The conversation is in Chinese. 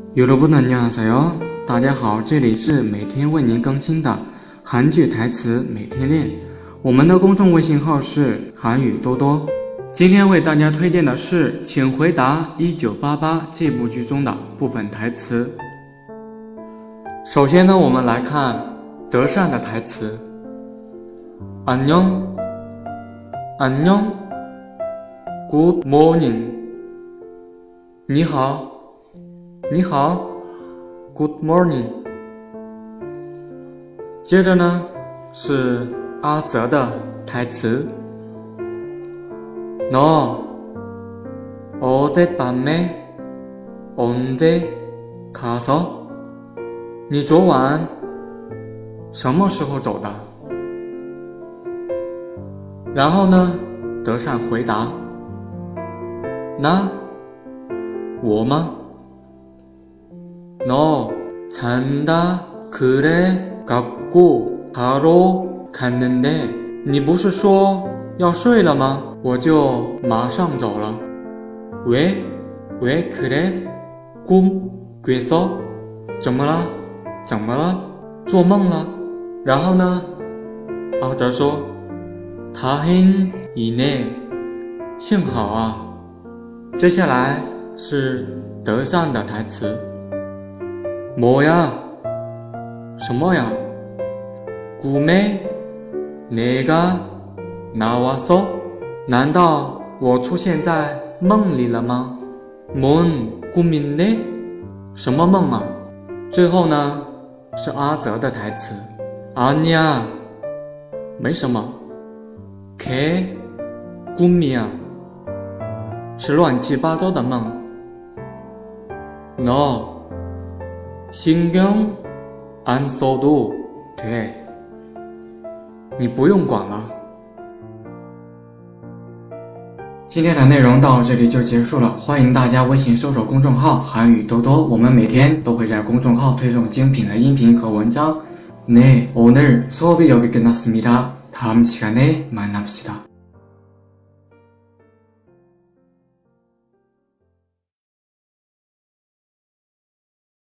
여러분 안녕하세요，大家好，这里是每天为您更新的韩剧台词每天练。我们的公众微信号是韩语多多。今天为大家推荐的是《请回答1988》这部剧中的部分台词。首先呢，我们来看德善的台词。안녕， 안녕， Good morning， 你好。你好 Good morning。 接着呢是阿泽的台词。너 어젯밤에 언제 가서？ 你昨晚什么时候走的？然后呢德善回答，那我吗？ 너 잔다 그래 갖고 바로 갔는데 你不是说要睡了吗？我就马上走了。왜 그래? 꿈 꿔서? 怎么了？怎么了？做梦了？然后呢？阿泽说 다행이네 幸好啊。接下来是德善的台词。 뭐야？ 什么呀？ 꿈에 내가 나왔어？ 难道我出现在梦里了吗？ 뭔 꿈인데？ 什么梦啊？最后呢是阿泽的台词。아니야， 没什么。걔 꿈이야， 是乱七八糟的梦。너 신경 안 써도 돼， 你不用管了。今天的内容到这里就结束了，欢迎大家微信搜索公众号韩语多多，我们每天都会在公众号推送精品的音频和文章。네， 오늘 수업이 여기 끝났습니다. 다음 시간에 만납시다.